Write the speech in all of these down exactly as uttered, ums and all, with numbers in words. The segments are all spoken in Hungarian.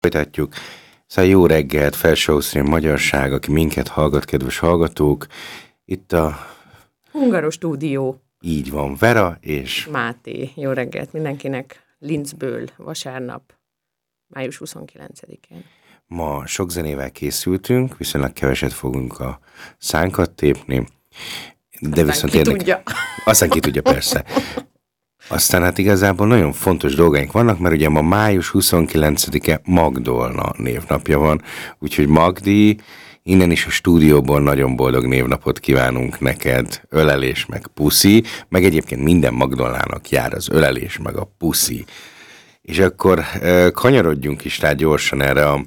folytatjuk. Szóval jó reggelt, Felső Ausztria magyarság, aki minket hallgat, kedves hallgatók. Itt a... Hungaros stúdió. Így van, Vera és... Máté. Jó reggelt mindenkinek. Linzből, vasárnap, május huszonkilencedikén. Ma sok zenével készültünk, viszonylag keveset fogunk a szánkat tépni. De Aztán viszont ki érdek... tudja. Aztán ki tudja, persze. Aztán hát igazából nagyon fontos dolgaink vannak, mert ugye ma május huszonkilencedike Magdolna névnapja van, úgyhogy Magdi, innen is a stúdióból nagyon boldog névnapot kívánunk neked, ölelés meg puszi, meg egyébként minden Magdolnának jár az ölelés meg a puszi. És akkor e, kanyarodjunk is rá gyorsan erre a...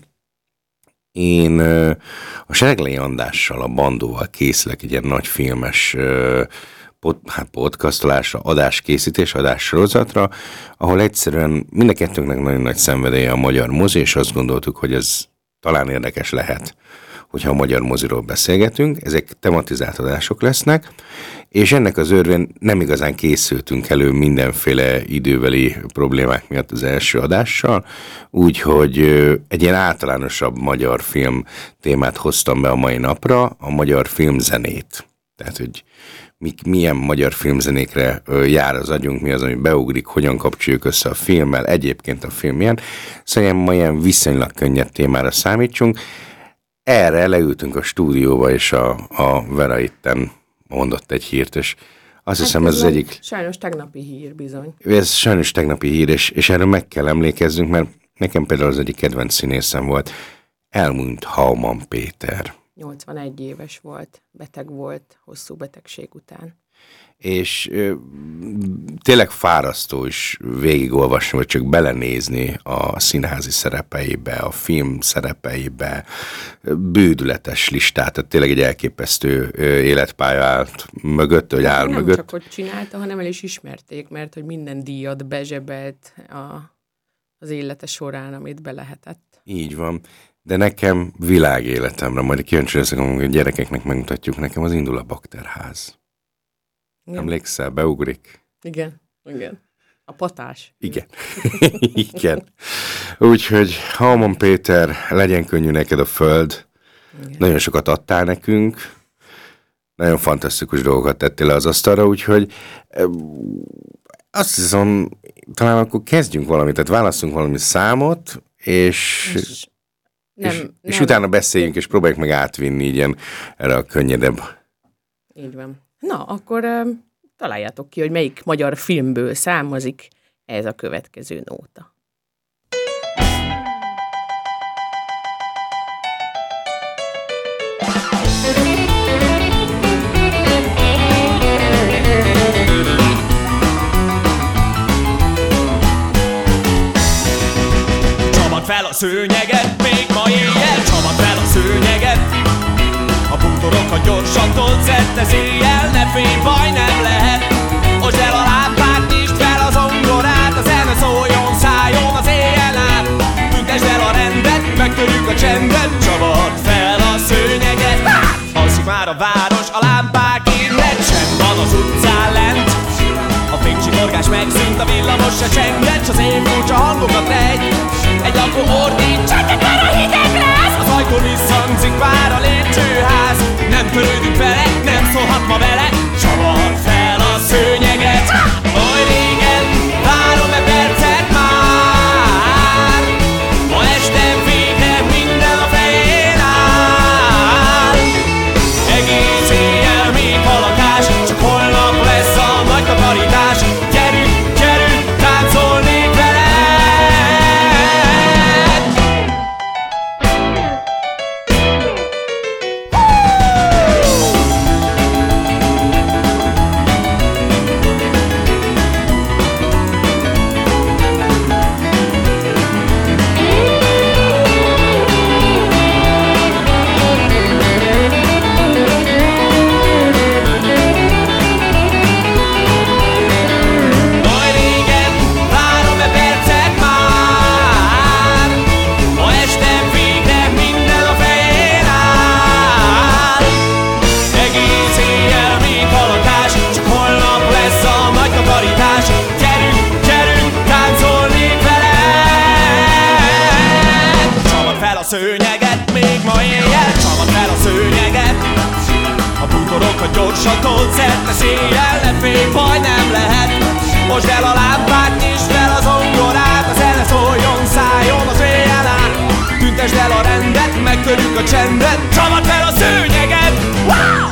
Én e, a Sereglei Andrással, a Bandóval készülök egy ilyen nagy filmes e, pod, hát podcastolásra, adáskészítés, adássorozatra, ahol egyszerűen mind a kettőnknek nagyon nagy szenvedélye a magyar mozi, és azt gondoltuk, hogy ez talán érdekes lehet, hogyha a magyar moziról beszélgetünk. Ezek tematizált adások lesznek, és ennek az örvén nem igazán készültünk elő mindenféle időbeli problémák miatt az első adással, úgyhogy egy ilyen általánosabb magyar film témát hoztam be a mai napra, a magyar filmzenét. Tehát, hogy milyen magyar filmzenékre jár az agyunk, mi az, ami beugrik, hogyan kapcsoljuk össze a filmmel, egyébként a film ilyen. Szóval ma ilyen viszonylag könnyed témára számítsunk. Erre leültünk a stúdióba, és a, a Vera itten mondott egy hírt, és azt hát hiszem ez az egyik... Sajnos tegnapi hír, bizony. Ez sajnos tegnapi hír, és, és erről meg kell emlékezzünk, mert nekem például az egyik kedvenc színészem volt. Elmúlt Hauman Péter. nyolcvanegy éves volt, beteg volt, hosszú betegség után. És ö, tényleg fárasztó is végigolvasni, vagy csak belenézni a színházi szerepeibe, a film szerepeibe, bődületes listát, tehát tényleg egy elképesztő életpálya állt mögött, vagy áll nem mögött. Nem csak, hogy csinálta, hanem el is ismerték, mert hogy minden díjat bezsebelt a, az élete során, amit be lehetett. Így van. De nekem világéletemre, majd kíváncsi leszek, hogy a gyerekeknek megmutatjuk, nekem az Indul a Bakterház. Igen. Emlékszel, beugrik? Igen, igen. A patás. Igen. Igen. Úgyhogy Hauman Péter, legyen könnyű neked a föld. Igen. Nagyon sokat adtál nekünk. Nagyon fantasztikus dolgokat tettél le az asztalra, úgyhogy azt hiszem, talán akkor kezdjünk valamit, tehát válasszunk valami számot, és... és Nem, és, nem. és utána beszéljünk, és próbáljuk meg átvinni ilyen erre a könnyedebb. Így van. Na, akkor uh, találjátok ki, hogy melyik magyar filmből származik ez a következő nóta. Csapad fel a szőnyeget, még ma éjjel, csapad fel a szőnyeget. A bútorokat gyorsan tolt, ez éjjel, ne félj, baj nem lehet. Osd el a lámpát, nyisd fel az zongorát, a zene szóljon, szálljon az éjjel át. Tüntesd el a rendet, megtörjük a csendet, csapad fel a szőnyeget. Alszik már a város, a lámpák innen, csend van az utcán lent. A fénycsikorgás megszűnt, a villamos se csenget, s az én furcsa hangokat regy. Egy lakó ordít, csendben már a hideg lesz. Az ajtón visszhangzik már a lépcsőház. Nem törődünk vele, nem szólhat ma vele. Csapad fel a szőnyeget. Oly régen, várom-e percet már. Ma este végre minden a fején áll. Egész éjjel még halakás, csak holnap lesz a nagy takarítás. Gyerünk, gyerünk, táncolnék veled. szőnyeget, még ma éjjel csapd fel a szőnyeget. A bútorokat gyorsan told szerte széjjel, ne félj, baj nem lehet. Mosd el a lámpát, nyisd fel az zongorát, a zene szóljon, szálljon az éjjel át. Tüntesd el a rendet, megtörjük a csendet, csapd fel a szőnyeget. Wow!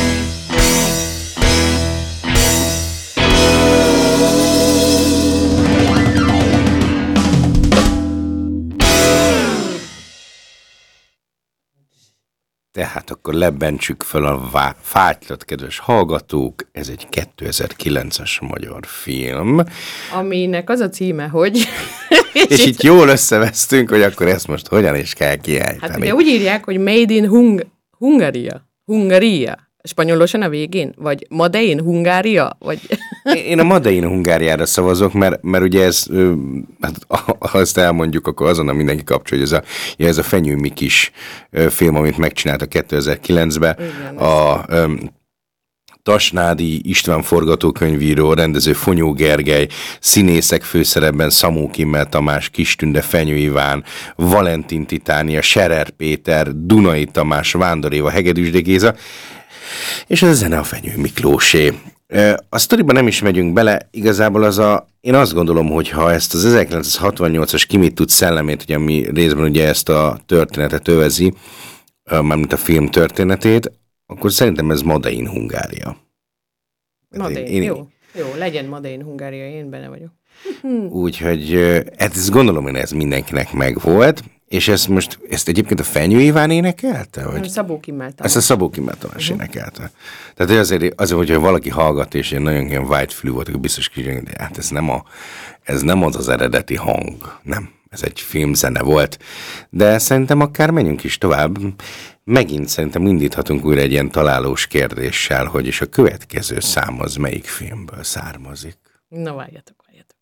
Tehát akkor lebentsük fel a vá- fátylat, kedves hallgatók, ez egy kétezer-kilences magyar film. Aminek az a címe, hogy... És itt jól összevesztünk, hogy akkor ezt most hogyan is kell kiejteni. Hát ugye úgy írják, hogy Made in Hung- Hungaria. Hungaria. Spanyolosan a végén? Vagy Made in Hungária? Vagy... Én a Made in Hungáriára szavazok, mert, mert ugye ez, hát, ha ezt elmondjuk, akkor azonnal mindenki kapcsolja, hogy ez a, ez a Fenyő Mikis film, amit megcsinálta kétezer-kilencben. Igen, a um, Tasnádi István forgatókönyvíró, rendező Fonyó Gergely, színészek főszerepben Szabó Kimmel Tamás, Kistünde, Fenyő Iván, Valentin Titánia, Scherer Péter, Dunai Tamás, Vándor Éva, Hegedűs Géza, és ez a zene a Fenyő Miklósé. A sztoriban nem is megyünk bele, igazából az a, én azt gondolom, hogy ha ezt az ezerkilencszázhatvannyolcas Ki mit tud szellemét, ugye, ami részben ugye ezt a történetet övezi, mármint a film történetét, akkor szerintem ez Made in Hungária. Made in, jó, jó, legyen Made in Hungária, én benne vagyok. Úgyhogy ezt gondolom, hogy ez mindenkinek megvolt, és ezt most, ezt egyébként a Fenyő Iván énekelte? Vagy? Szabó Kimmel Tamás. Ezt a Szabó Kimmel Tamás uh-huh. énekelte. Tehát azért, azért, hogyha valaki hallgat, és én nagyon ilyen whitefülű volt, akkor biztos kicsit, de hát ez nem, a, ez nem az az eredeti hang. Nem, ez egy filmzene volt. De szerintem akár menjünk is tovább. Megint szerintem indíthatunk újra egy ilyen találós kérdéssel, hogy és a következő szám az melyik filmből származik. Na, várjatok, várjatok.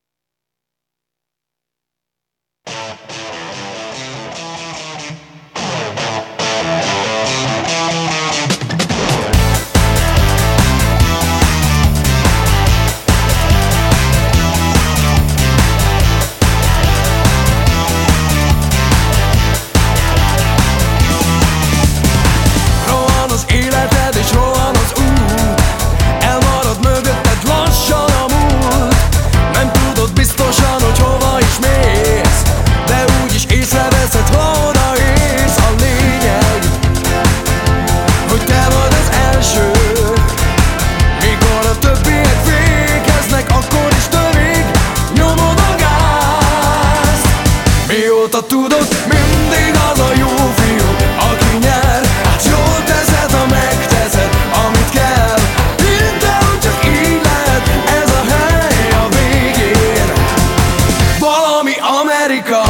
Biztosan, hogy hova is mész, de úgyis észreveszed, ha odaérsz. A lényeg, hogy te vagy az első. Mikor a többiek fékeznek, akkor is törik, nyomod a gázt. Mióta tudod, mindig az a jó fiú, aki nyer. Hát jól teszed, ha megteszed, amit kell. Hidd el, hogy csak így lehet, ez a hely a végén. Valami Amerika.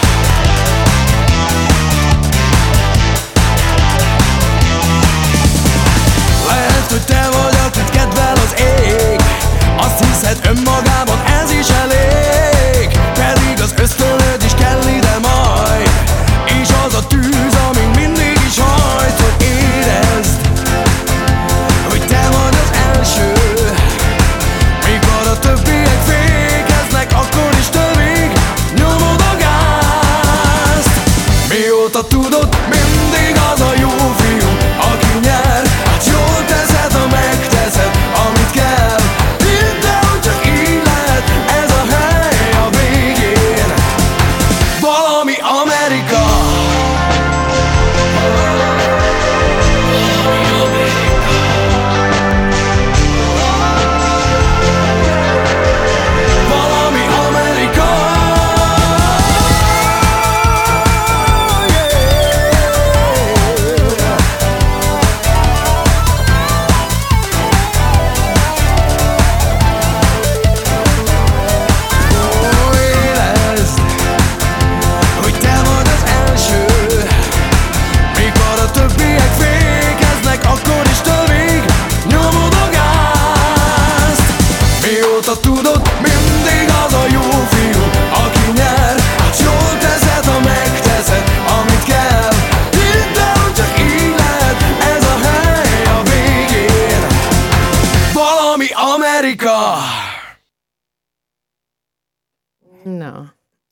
Lehet, hogy te vagy, akit kedvel az ég. Azt hiszed önmagában ez is elég, pedig az ösztönöd is kell ide majd. És az a tűz, ami mindig is hajt, hogy érezd, hogy te vagy az első. Mikor a többiek fékeznek, akkor is törik, nyomod a gázt. Mióta tudod, mindig az a jó fiú, aki nyer. Hát jól teszed, ha megteszed, amit kell. Hidd el, hogy csak így lehet, ez a hely a végén. Valami Amerika. Valami Amerika. Ó, érezd, hogy te vagy az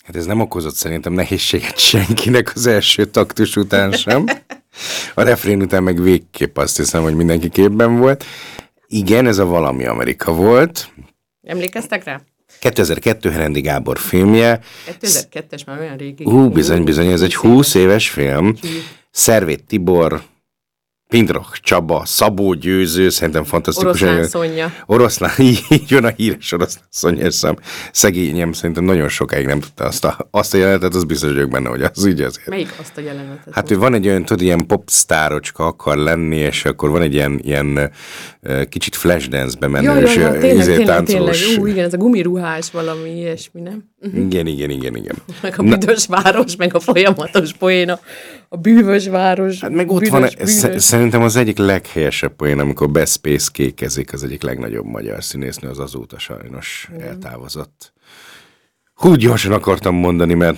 Hát ez nem okozott szerintem nehézséget senkinek az első taktus után sem. A refrén után meg végképp azt hiszem, hogy mindenki képben volt. Igen, ez a Valami Amerika volt. Emlékeztek rá? kétezer-kettő Herendi Gábor filmje. kétezer-kettes már olyan régi. Hú, bizony, bizony, ez egy húsz éves film. Szervét Tibor, Pindroch Csaba, Szabó Győző, szerintem fantasztikus. Oroszlán Szonya. Oroszlán, így jön a híres Oroszlán Szonya, szám. Szegényem szerintem nagyon sokáig nem tudta azt a, azt a jelenetet, az biztos vagyok benne, hogy az így azért. Melyik azt a jelenetet? Hát ő van egy olyan, tudod, ilyen popstárocska akar lenni, és akkor van egy ilyen, ilyen uh, kicsit flashdance-be menő, ja, és ja, ja, tényleg, izé, tényleg, táncolós. tényleg. Ú, igen, ez a gumiruhás valami ilyesmi, nem? Igen, igen, igen, igen. Meg a büdös város, meg a folyamatos poéna, a bűvös város. Hát meg ott büdös, van, bűvös. szerintem az egyik leghelyesebb poén, amikor Beszpész kékezik, az egyik legnagyobb magyar színésznő, az azóta sajnos mm. eltávozott. Hú, gyorsan akartam mondani, mert...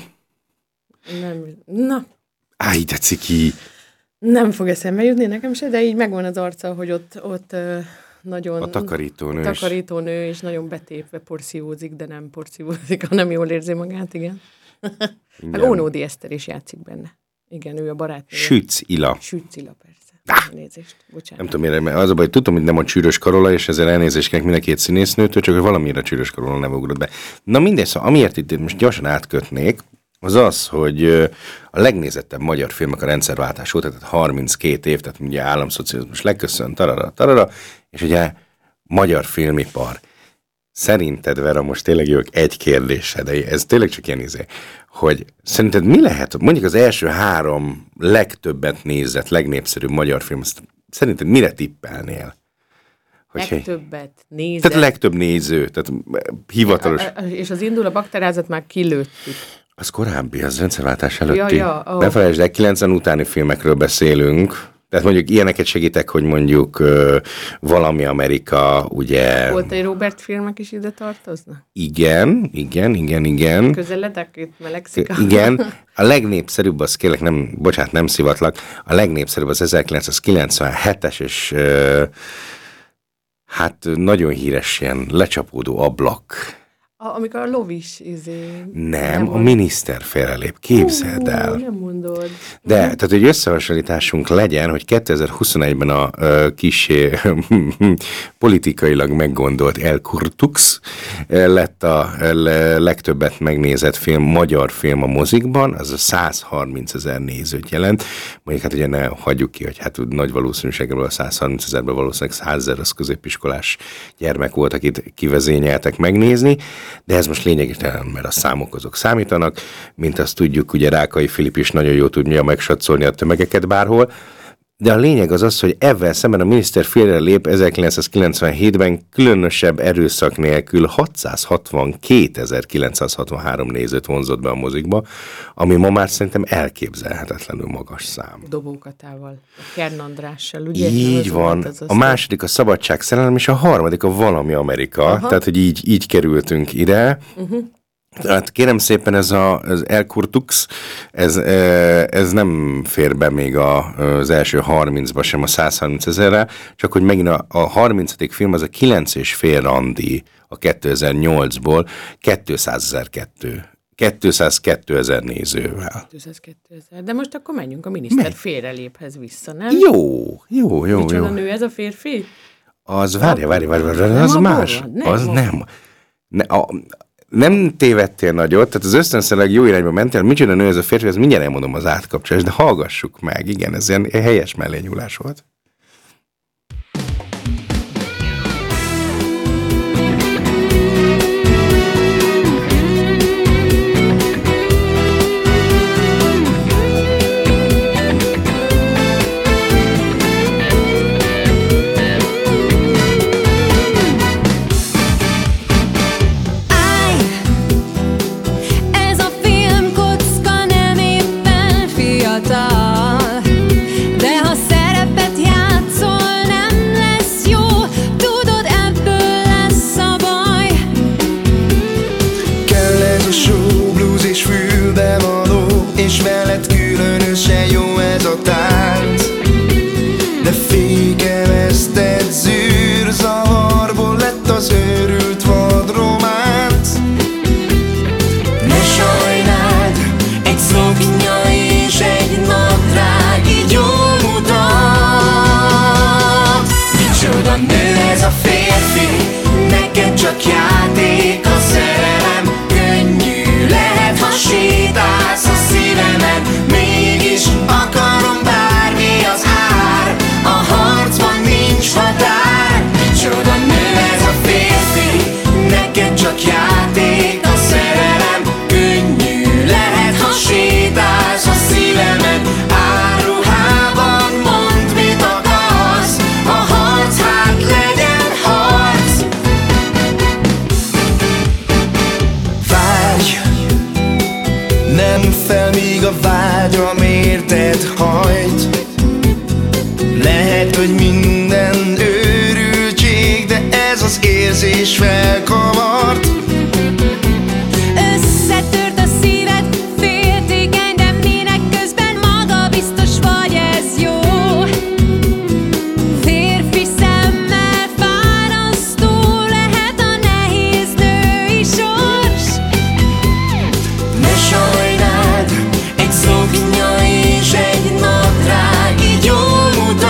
Nem, na. Áj, de ciki! Nem fog eszembe jutni nekem se, de így megvan az arca, hogy ott, ott uh, nagyon... A takarítónő. A takarítónő, és nagyon betépve porciózik, de nem porciózik, hanem jól érzi magát, igen. Meg Ónódi Eszter is játszik benne. Igen, ő a barátnő. Sütz Ila. Sütz Ila, persze. Elnézést, bocsánat. Nem tudom, mire, mert az a baj, hogy tudom, hogy nem a Csűrös Karola, és ezzel elnézést kérek mind a két színésznőtől, csak hogy valamire a Csűrös Karola nem ugrott be. Na mindegy, szóval amiért itt most gyorsan átkötnék, az az, hogy a legnézettebb magyar filmek a rendszerváltás óta, tehát harminckét év, tehát ugye államszocializmus leköszön, tarara, tarara, és ugye magyar filmipar. Szerinted, Vera, most tényleg jövök egy kérdésre, de ez tényleg csak ilyen izé, hogy szerinted mi lehet, mondjuk az első három legtöbbet nézett, legnépszerűbb magyar film, azt szerinted mire tippelnél? Hogy legtöbbet nézett. Tehát legtöbb néző, tehát hivatalos. A, a, és az indul a bakterázat már kilőttük. Az korábbi, az rendszerváltás előtti. Ja, ja, oh. Ne felejtsd el, kilencven utáni filmekről beszélünk. Tehát mondjuk ilyeneket segítek, hogy mondjuk uh, Valami Amerika, ugye... Volt egy Robert filmek is ide tartoznak? Igen, igen, igen, igen. Közeledek, itt melegszik. Igen. A legnépszerűbb, az kérlek, nem, bocsánat, nem szivatlak, a legnépszerűbb az ezerkilencszázkilencvenhetes, és uh, hát nagyon híres ilyen lecsapódó ablak. A, amikor a lovis izé... Nem, nem a miniszter félrelép, képzeld el. Ó, nem mondod. De, tehát egy összehasonlításunk legyen, hogy kétezer-huszonegyben a uh, kissé politikailag meggondolt El Kurtux lett a le, legtöbbet megnézett film, magyar film a mozikban, az a százharmincezer nézőt jelent. Mondjuk hát ugye ne hagyjuk ki, hogy hát nagy valószínűséggel a százharmincezerben valószínűleg százezer az középiskolás gyermek volt, akit kivezényeltek megnézni. De ez most lényegtelen, mert a számok azok számítanak, mint azt tudjuk, ugye Rákai Filip is nagyon jól tudja megsatszolni a tömegeket bárhol, de a lényeg az az, hogy ezzel szemben a miniszter félrelép ezerkilencszázkilencvenhétben különösebb erőszak nélkül hatszázhatvankétezer-kilencszázhatvanhárom nézőt vonzott be a mozikba, ami ma már szerintem elképzelhetetlenül magas szám. Dobókatával, a Kern Andrással, ugye? Így van. Az a második a Szabadság szerelem, és a harmadik a Valami Amerika. Aha. Tehát, hogy így, így kerültünk ide. Uh-huh. Tehát kérem szépen, ez a, az El Kurtux, ez, ez nem fér be még a, az első harmincba sem, a százharmincezerre, csak hogy megint a, a harmincadik film az a kilenc és fél randi a kétezer-nyolcból kétszázezer-kettő. kétszázkettőezer nézővel. kétszázkettőezer. De most akkor menjünk a miniszter félreléphez vissza, nem? Jó, jó, jó. Micsoda jó. nő ez a férfi? Az, várja, várja, várja, várja, az más. Nem, az nem. Ne, a, nem tévedtél nagyot, tehát az ösztönszerűleg jó irányba mentél, micsoda nő ez a férfi, ez mindjárt elmondom az átkapcsolást, de hallgassuk meg, igen, ez ilyen helyes mellényúlás volt. De ha szerepet jár érted hajt. Lehet, hogy minden őrültség, de ez az érzés felkavart. Összetört a szíved, féltékeny, de minek közben magabiztos vagy, ez jó. Férfi szemmel fárasztó lehet a nehéz női sors. Ne sajnáld, egy szoknya és egy nadrág így jól mutat.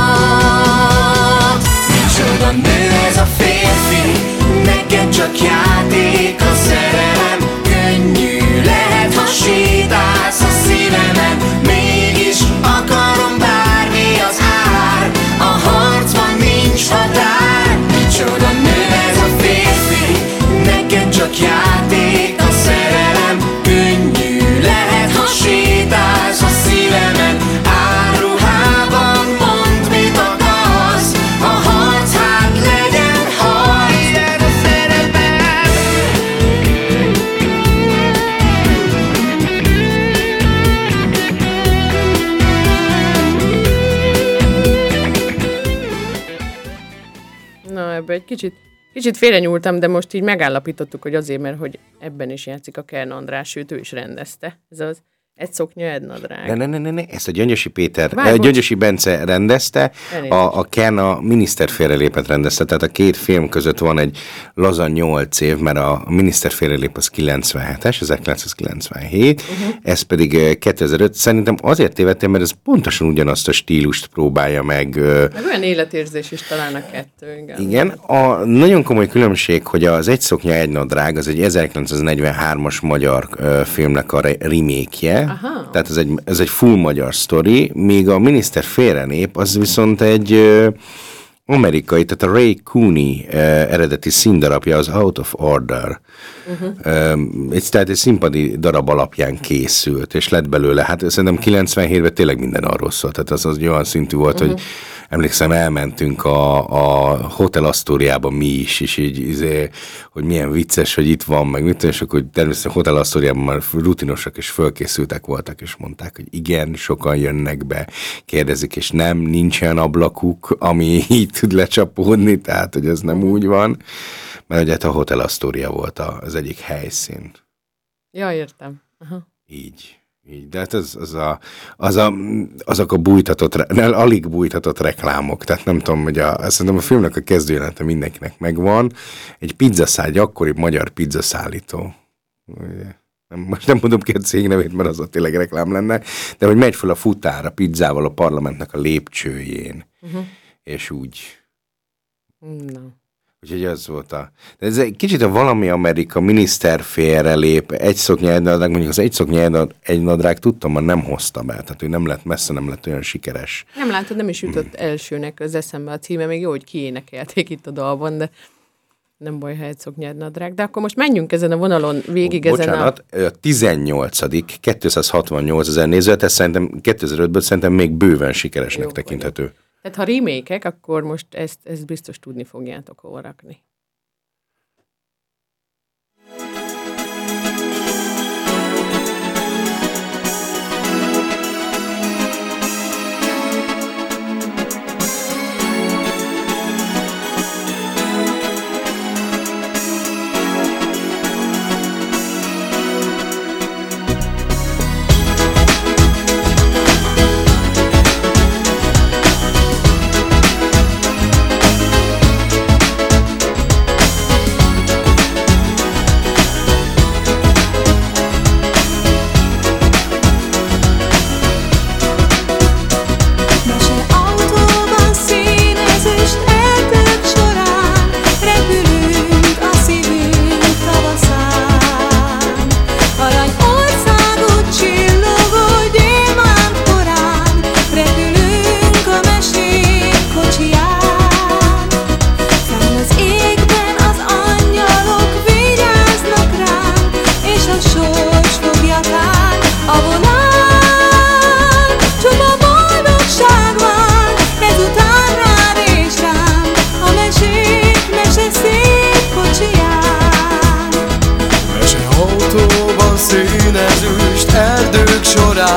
Micsoda nő ez a férfi, neked csak játék a szerelem. Könnyű lehet, ha sétálsz a szívemen, mégis akarom bármi az ár. A harcban nincs határ. Micsoda nő ez a férfi, neked csak játék a szerelem. Könnyű lehet, ha sétálsz a szívemen, áruhában mondd, mit akarsz. A harc hát legyen harc. Ilyen a szerelem. Na, ebbe egy kicsit, kicsit félrenyúltam, de most így megállapítottuk, hogy azért, mert hogy ebben is játszik a Kern András, sőt, ő is rendezte. Ez az egy szoknya, egy nadrág. Ne, ne, ne, ne, ne, ezt a Gyöngyösi Péter, Várj, eh, bocs. Gyöngyösi Bence rendezte, Elnézést. a, a Ken a miniszter félrelépet rendezte, tehát a két film között van egy laza nyolc év, mert a miniszter félrelép az kilencvenhetes, ezerkilencszázkilencvenhét, uh-huh. ez pedig eh, kétezer-öt. Szerintem azért tévedtem, mert ez pontosan ugyanazt a stílust próbálja meg. eh, Meg olyan életérzés is talán a kettő, igen. Igen, a nagyon komoly különbség, hogy az Egy szoknya, egy nadrág, az egy ezerkilencszáznegyvenhármas magyar ö, filmnek a re- remake-je, Aha. tehát ez egy, ez egy full magyar sztori, míg a Miniszter félrenép, az viszont egy ö, amerikai, tehát a Ray Cooney ö, eredeti színdarabja, az Out of Order. Uh-huh. Egy, tehát egy színpadi darab alapján készült, és lett belőle, hát szerintem kilencvenhétben tényleg minden arról szólt, tehát az, az olyan szintű volt, uh-huh. hogy emlékszem, elmentünk a, a Hotel Astoriába mi is, és így, izé, hogy milyen vicces, hogy itt van, meg mit, és akkor természetesen Hotel Astoriában már rutinosak és fölkészültek voltak, és mondták, hogy igen, sokan jönnek be, kérdezik, és nem, nincsen ablakuk, ami így tud lecsapódni, tehát, hogy ez nem úgy van, mert ugye a Hotel Astoria volt az egyik helyszín. Ja, értem. Aha. Így. Így, de hát az, az a, az a, azok a bújtatott, ne, alig bújtatott reklámok, tehát nem tudom, hogy a, szerintem a filmnek a kezdőjelente mindenkinek megvan. Egy pizzaszál, egy akkori magyar pizzaszállító. Nem, most nem mondom ki a cég nevét, mert az ott tényleg reklám lenne, de hogy megy fel a futár a pizzával a parlamentnek a lépcsőjén, uh-huh. és úgy. No. Úgyhogy az volt a... De ez egy kicsit a valami Amerika, miniszter félrelép, egy szoknya, egy nadrág, mondjuk az egy szoknya, egy nadrág tudtam, már nem hozta be, tehát ő nem lett messze, nem lett olyan sikeres. Nem látod, nem is jutott elsőnek az eszembe a címe, még jó, hogy kiénekelték itt a dalban, de nem baj, ha egy szoknya, egy nadrág. De akkor most menjünk ezen a vonalon végig Bocsánat, ezen a... a tizennyolcadik kétszázhatvannyolcezer nézőt, ez szerintem kétezer-ötből szerintem még bőven sikeresnek Jó, tekinthető. Tehát ha remake-ek, akkor most ezt, ezt biztos tudni fogjátok hol rakni.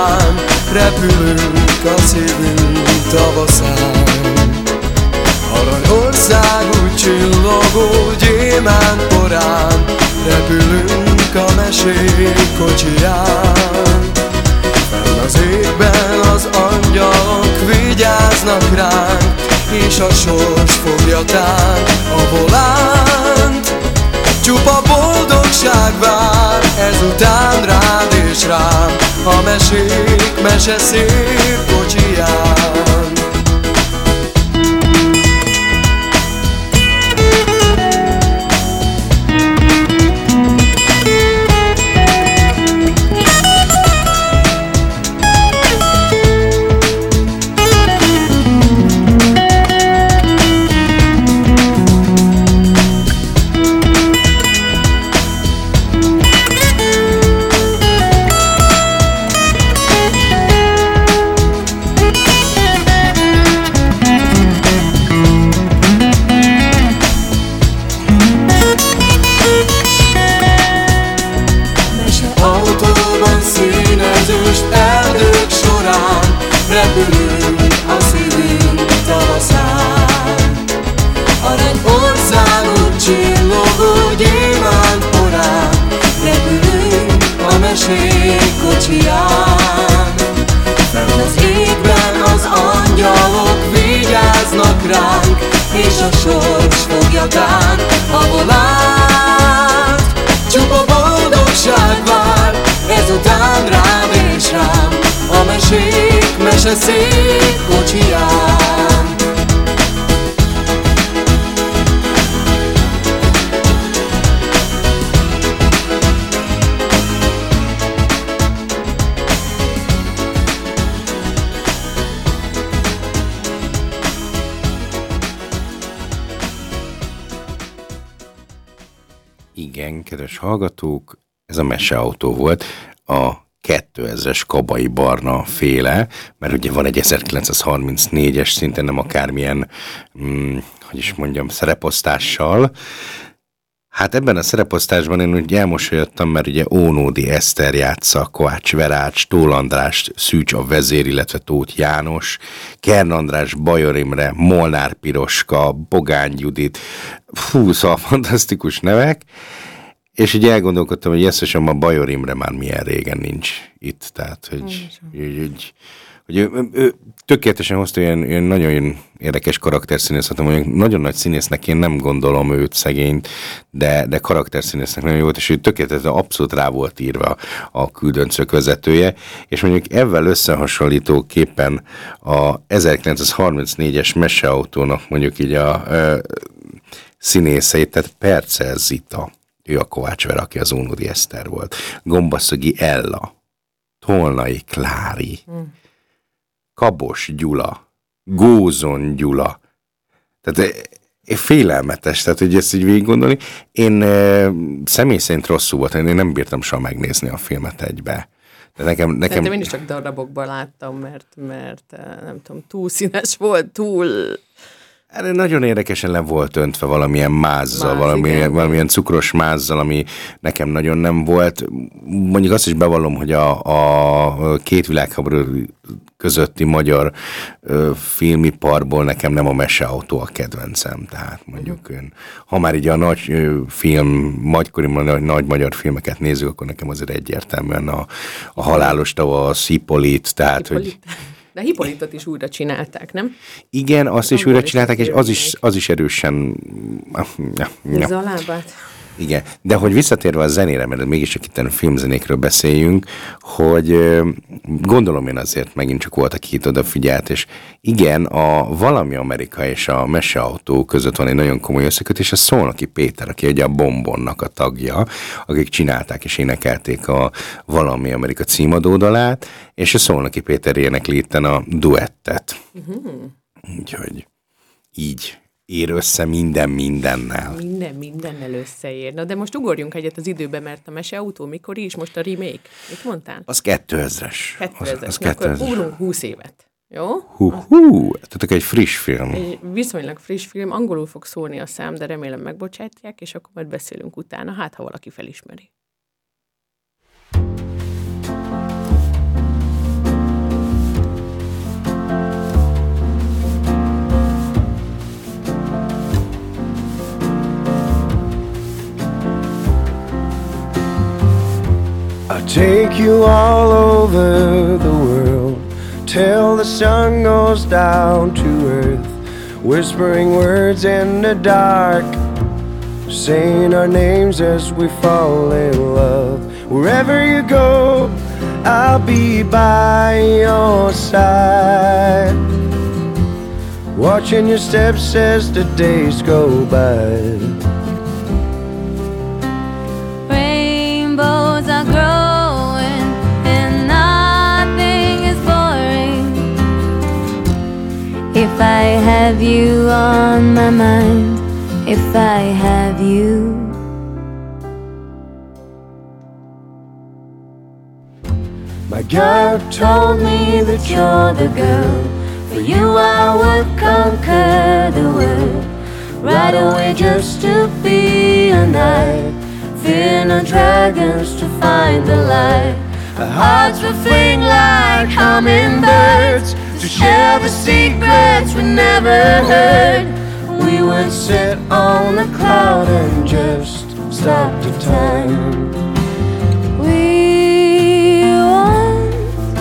porán, repülünk a szívünk tavaszán. Aranyországú csillogó gyémánt porán, repülünk a mesék kocsiján. Fenn az égben az angyalok vigyáznak ránk, és a sors fogja tán a volánt. Csupa boldogság vár ezután rád és rám, a mesék mese szép kocsiján. Repülünk a szívünk tavaszán. Aranyországú csillogó gyémánt porán, repülünk a mesék kocsiján. Fenn az égben az angyalok vigyáznak ránk, és a sors fogja tán a volánt. Csupa boldogság vár ezután rám és rám, a mesék mese szép kocsiján. Igen, kedves hallgatók, ez a meseautó volt. A kétezres Kabai Barna féle, mert ugye van egy ezerkilencszázharmincnégyes, szinte nem akármilyen, hm, hogy is mondjam, szereposztással. Hát ebben a szereposztásban én úgy elmosolyodtam, mert ugye Ónódi Eszter játsza, Kovács Verács, Tól András, Szűcs a vezér, illetve Tóth János, Kern András, Bajor Imre, Molnár Piroska, Bogány Judit, fú, szóval fantasztikus nevek. És így elgondolkodtam, hogy jesszasom, a Bajor Imre már milyen régen nincs itt, tehát, hogy, hogy, hogy, hogy ő, ő tökéletesen hozta olyan, olyan nagyon érdekes karakterszínész, hogy nagyon nagy színésznek én nem gondolom őt szegényt, de, de karakterszínésznek nagyon jó volt, és ő tökéletesen abszolút rá volt írva a Küldöncök vezetője, és mondjuk ezzel összehasonlítóképpen a ezerkilencszázharmincnégyes meseautónak mondjuk így a, a színészeit, tehát Percel Zita, ő a Kovács Vera, aki az Ónódi Eszter volt. Gombaszögi Ella, Tolnai Klári, mm. Kabos Gyula, Gózon Gyula. Tehát félelmetes, tehát hogy ezt így végig gondolni. Én e, személy szerint rosszul volt, én nem bírtam soha megnézni a filmet egybe. De nekem, nekem... Szerintem én is csak darabokban láttam, mert, mert nem tudom, túl színes volt, túl... Erre nagyon érdekesen le volt öntve valamilyen mázzal, Máz, valamilyen, valamilyen cukros mázzal, ami nekem nagyon nem volt. Mondjuk azt is bevallom, hogy a, a két világháború közötti magyar ö, filmiparból nekem nem a meseautó a kedvencem. Tehát mondjuk ön, ha már így a nagy ö, film, nagykori nagy, nagy magyar filmeket nézzük, akkor nekem azért egyértelműen a, a Halálos tavasz, Hippolit, tehát Hippolit. hogy... De Hippolytot is újra csinálták, nem? Igen, azt is újra csinálták, és az is, az is erősen... Húzza a lábát. Igen, de hogy visszatérve a zenére, mert mégiscsak itt a filmzenékről beszéljünk, hogy gondolom én azért megint csak volt, aki itt odafigyelt, és igen, a Valami Amerika és a Meseautó között van egy nagyon komoly összekötés, a Szolnoki Péter, aki ugye a Bombonnak a tagja, akik csinálták és énekelték a Valami Amerika címadódalát, és a Szolnoki Péter énekli itten a duettet. Uh-huh. Úgyhogy így ér össze minden mindennel. Minden mindennel összeér. Na de most ugorjunk egyet az időbe, mert a Meseautó mikor is, most a remake. Mit mondtál? Az kétezres. kétezres. Az, az kétezres. Akkor ugrunk húsz évet. Jó? Hú, hú, tehát egy friss film. Egy viszonylag friss film, angolul fog szólni a szám, de remélem megbocsátják, és akkor majd beszélünk utána, hát ha valaki felismeri. take you all over the world till the sun goes down to earth, whispering words in the dark, saying our names as we fall in love. Wherever you go, I'll be by your side, watching your steps as the days go by. Rainbows are growing and nothing is boring if I have you on my mind, if I have you. My God told me that you're the girl. For you I would conquer the world. Right away just to be a knight, fear no dragons to find the light. Our hearts will fling like hummingbirds to share the secrets we never heard. We would sit on a cloud and just stop the time. We once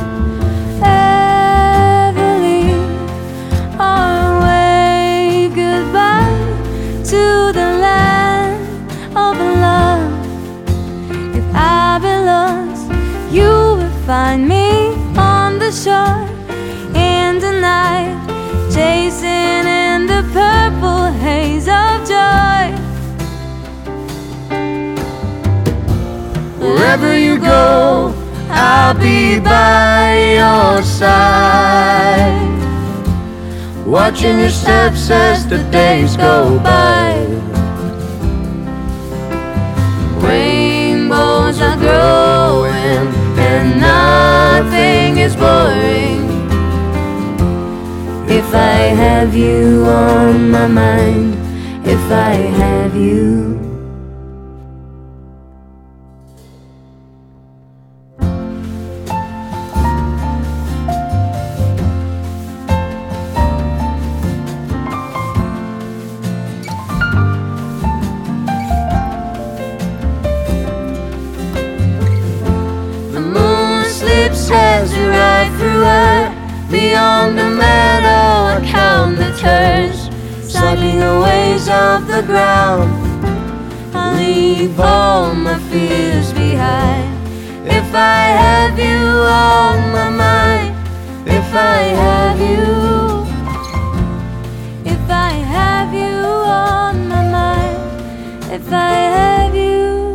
ever leave or wave goodbye to the land of love. If I be lost, you will find me on the shore in the night, chasing in the purple haze of joy. Wherever you go, I'll be by your side, watching your steps as the days go by. Rainbows are growing and nothing is boring if I have you on my mind, if I have you. As we ride through her, beyond the meadow, I count the turns, cycling the waves of the ground. I leave all my fears behind. If I have you on my mind, if I have you, if I have you on my mind, if I have you.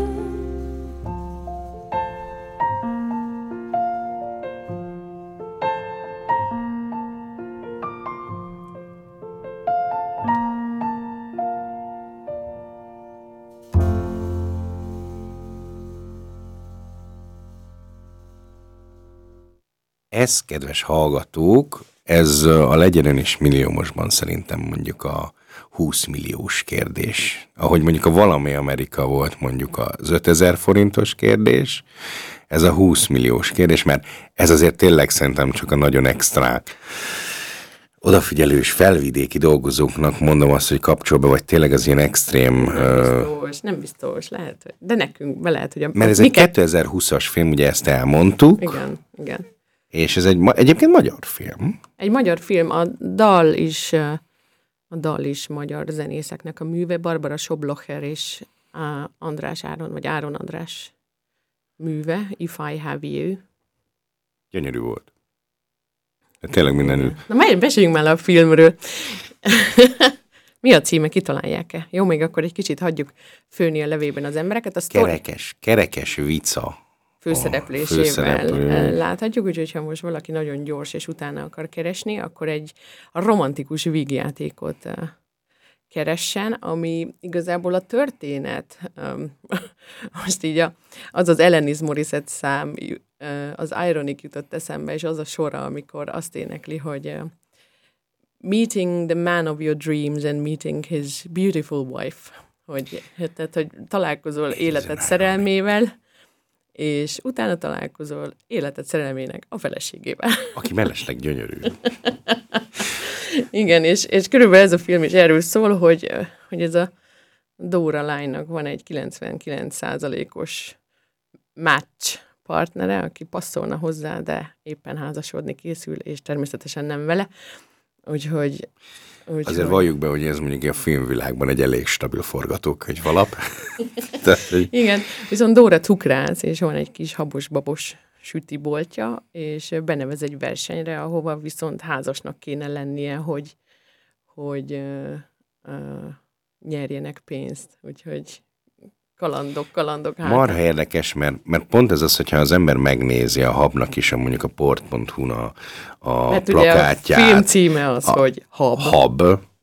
Ez, kedves hallgatók, ez a Legyen is milliómosban szerintem mondjuk a húsz milliós kérdés. Ahogy mondjuk a Valami Amerika volt mondjuk az ötezer forintos kérdés, ez a húsz milliós kérdés, mert ez azért tényleg szerintem csak a nagyon extrák odafigyelős felvidéki dolgozóknak mondom azt, hogy kapcsolba, vagy tényleg az ilyen extrém... Nem biztos, nem biztos, lehet, de nekünk be lehet, hogy... A, mert ez egy kétezer-húszas film, ugye ezt elmondtuk. Igen, igen. És ez egy, egyébként magyar film. Egy magyar film, a dal is, a dal is magyar zenészeknek a műve, Barbara Soblocher és András Áron, vagy Áron András műve, If I Have You. Gyönyörű volt. De tényleg mindenül. Na, majd beszéljünk már a filmről. Mi a címe, kitalálják-e? Jó, még akkor egy kicsit hagyjuk főni a levében az embereket. A sztori... Kerekes, kerekes vica. Főszereplésével főszereplő. láthatjuk, úgyhogy ha most valaki nagyon gyors és utána akar keresni, akkor egy a romantikus vígjátékot keressen, ami igazából a történet, most így a, az az Alanis Morissette szám, az Ironic jutott eszembe, és az a sora, amikor azt énekli, hogy meeting the man of your dreams and meeting his beautiful wife, hogy, tehát, hogy találkozol életed szerelmével, és utána találkozol életed szerelmének a feleségével. Aki mellesleg gyönyörű. Igen, és, és körülbelül ez a film is erről szól, hogy, hogy ez a Dóra lánynak van egy kilencvenkilenc százalékos match partnere, aki passzolna hozzá, de éppen házasodni készül, és természetesen nem vele. Úgyhogy... úgyhogy... Azért valljuk be, hogy ez mondjuk a filmvilágban egy elég stabil forgatókönyv alap. Tehát, hogy... Igen, viszont Dóra cukrász, és van egy kis habos-babos sütiboltja, és benevez egy versenyre, ahova viszont házasnak kéne lennie, hogy, hogy uh, uh, nyerjenek pénzt. Úgyhogy kalandok, kalandok. Hát. Marha érdekes, mert, mert pont ez az, hogyha az ember megnézi a Habnak is, a mondjuk a port pont hu-n a, a hát plakátját. Ugye a film címe az, a, hogy Hab. Hab.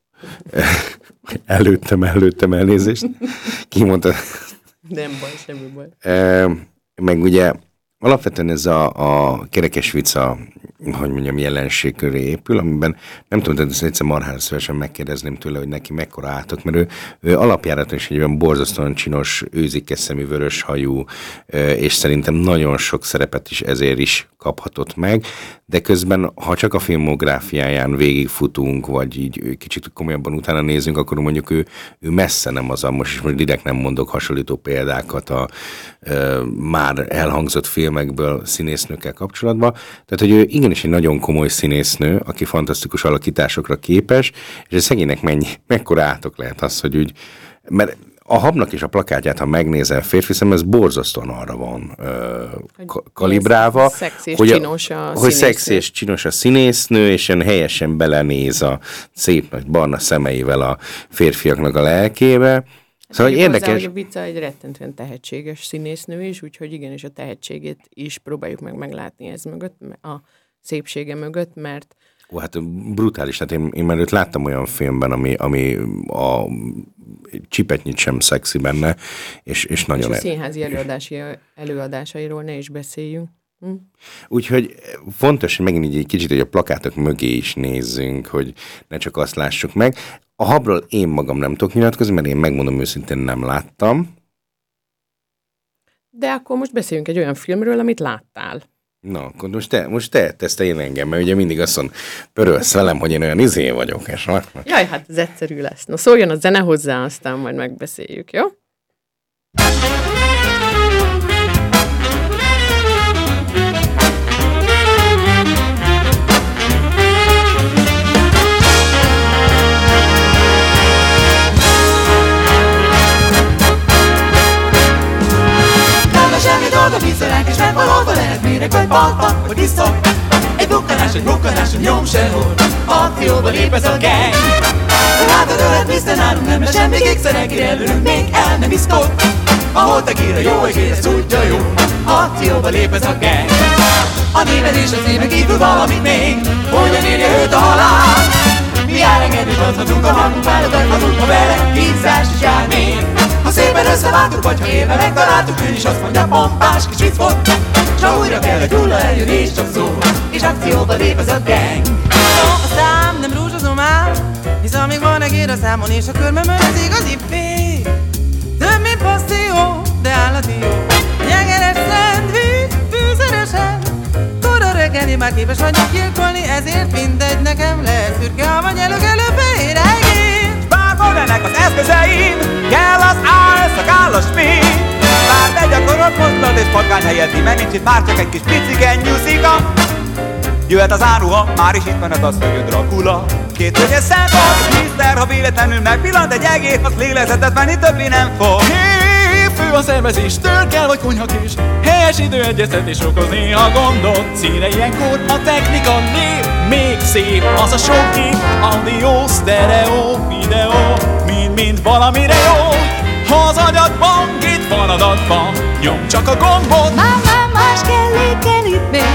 előttem, előttem elnézést. Ki mondta? Nem baj, semmi baj. E, meg ugye alapvetően ez a, a kerekes vicca, hogy mondjam, jelenség köré épül, amiben nem tudom, de ezt egyszer marhára szívesen megkérdezném tőle, hogy neki mekkora átok, mert ő, ő alapjáraton is egy olyan borzasztóan csinos, őzikes szemű, vörös hajú, és szerintem nagyon sok szerepet is ezért is kaphatott meg, de közben, ha csak a filmográfiáján végigfutunk, vagy így kicsit komolyabban utána nézünk, akkor mondjuk ő, ő messze nem az a, most is most direkt nem mondok hasonlító példákat a e, már elhangzott filmekből színésznőkkel kapcsolatban. Tehát, hogy ő igenis egy nagyon komoly színésznő, aki fantasztikus alakításokra képes, és a szegénynek mennyi, mekkora átok lehet az, hogy úgy, mert a Habnak is a plakátját, ha megnézel férfi szem, ez borzasztóan arra van ö, kalibrálva, szex és hogy, csinos a hogy szex és csinos a színésznő, és ilyen helyesen belenéz a szép nagy barna szemeivel a férfiaknak a lelkébe. Szóval Mondjuk érdekes. hozzá, hogy a Vica egy rettentően tehetséges színésznő is, úgyhogy igenis a tehetségét is próbáljuk meg meglátni ez mögött, a szépsége mögött, mert Ó, hát brutális. Hát én, én már őt láttam olyan filmben, ami, ami a csipetnyit sem szexi benne, és, és nagyon... És a színházi előadási, előadásairól ne is beszéljünk. Hm? Úgyhogy fontos, hogy megint így egy kicsit, hogy a plakátok mögé is nézzünk, hogy ne csak azt lássuk meg. A Habról én magam nem tudok nyilatkozni, mert én megmondom őszintén nem láttam. De akkor most beszéljünk egy olyan filmről, amit láttál. Na, akkor most te, most te tesztelj engem, mert ugye mindig azt mondom, pörölsz velem, hogy én olyan izé vagyok, és van. Jaj, hát ez egyszerű lesz. Na szóljon a zene hozzá, aztán majd megbeszéljük, jó? Dolga vízzelánk, és nem valahol lehet méreg, vagy balpak, vagy iszok. Egy bukkanás, egy bukkanás, egy nyom sehol. Akcióba lép ez a gang. Látod, ölet vissza nálunk, nem lesz semmi kékszerek, előrünk még el nem iszkod. Ahol te kír a jó egész, ez tudja jó. Akcióba lép ez a gang. A néved és az éve kívül valamit még. Hogyan érje őt a halál? Mi elengedni adhatunk a magunk, válogathatunk, ha vele kínzás is jár még. Ha szépen összeváltuk, vagy ha élve megtaláltuk, ő is azt mondja, pompás kis viccot. S ha újra kell, hogy hulla eljön és csak szól, és akcióba lép ez a gang. A szám nem rúzsozom ám, hisz amíg van egér a számon, és a körmömön az igazi fény. Több mint passzió, de állati jó. Jegeres szendvics, fűszeresen. Tura reggeli, már képes vagyok gyilkolni, ezért mindegy nekem lesz. Szürke, ha vagy előkelő fehér egész. Bárhol ennek az eszközeim, kell az álszakál a smink. Bár te gyakorod mozdulat és patkány helyett, mert nincs itt már csak egy kis piciken nyúszika. Jöhet az áruha, már is itt van az, hogy a Dracula. Két hölgyes szempolt, és miszter, ha véletlenül megpillant egy egész, az lélegzetet venni többé nem fog. Hé, fő a szervezés, tör kell vagy konyhakés. Helyes időegyeztetés okoz néha gondot. Színe ilyenkor a technika nép. Még szép az a sok kép, audio, sztereó, videó, mind-mind valamire jó. Ha az agyadban, itt van adatban, nyom csak a gombot. Már, már más kell, kell itt még.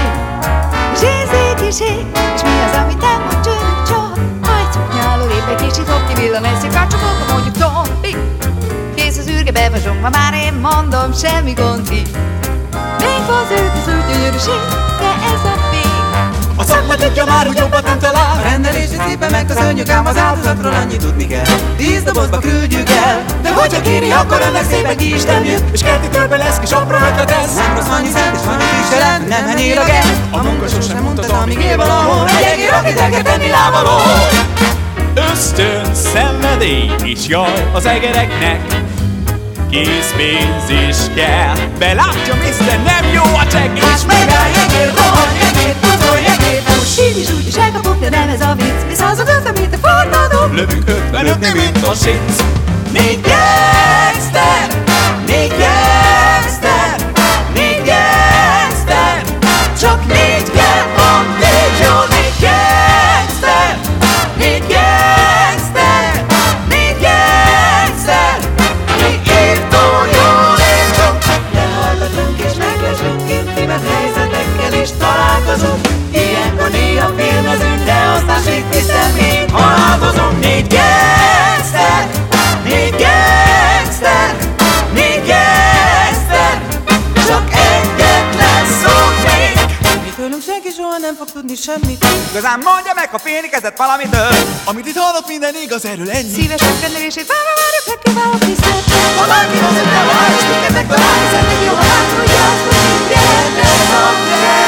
Zsézék és ég, és mi az, amit nem mond csörök csak. Majd szoknyáló lép egy kicsit, hopp kivillan egy szikácsokot, mondjuk Tompi. Kész az űrge, bevazsongva, már én mondom, semmi gond így. Még fazőt az ő gyönyörűség, de ez a vég. A szakma tudja már, hogy jobbat nem talál. A rendelési szépen megköszönjük, ám az áldozatról annyit tudni kell. Tíz dobozba küldjük el, De hogyha kéri, akkor ennek szépen ki is temjük. És kerti körbe lesz kis apró ötlet ez. nem rossz annyi szent, és van egy kísérlet, nem henyél a gen. A munka sosem mondtad, amíg él valahol. Egy egér, akit el kell tenni lábaló. Ösztön, szenvedély és jaj az egereknek. készpénz is kell. Belátja, miszter, nem jó a csekk, és Megállj, egér, rohanj, egér, pucolj, egér, fuss. Így is úgy is elkapok, de nem ez a vicc. Mi századöt, mint a forradó. lövünk ötvenöt, mint a sinc. Négy gangster, négy gangster, négy gangster, csak négy kell, van négy jó, négy gangster, négy gangster, négy gangster, mi írtó jól írtunk. Lehallgatunk és meglesünk, intimet helyzetekkel is találkozunk. Ilyenkor néha filmezünk, de aztán itt hiszen mi haladozunk. Négy gangster, négy gangster, négy gangster, csak egyetlen szót még. Mi tőlünk senki soha nem fog tudni semmit. Igazán mondja meg, ha félnikezett valamitől, amit itt hallok, minden igaz, erről ennyi. Szíves megrendelését várva várjuk, megkívánok tisztelt. Ha bárki az öttel vár, és minket talál, hiszen még jó, ha látodja azt, hogy mindjárt ez a gang.